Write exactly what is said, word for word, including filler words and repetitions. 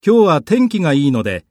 今日は天気がいいので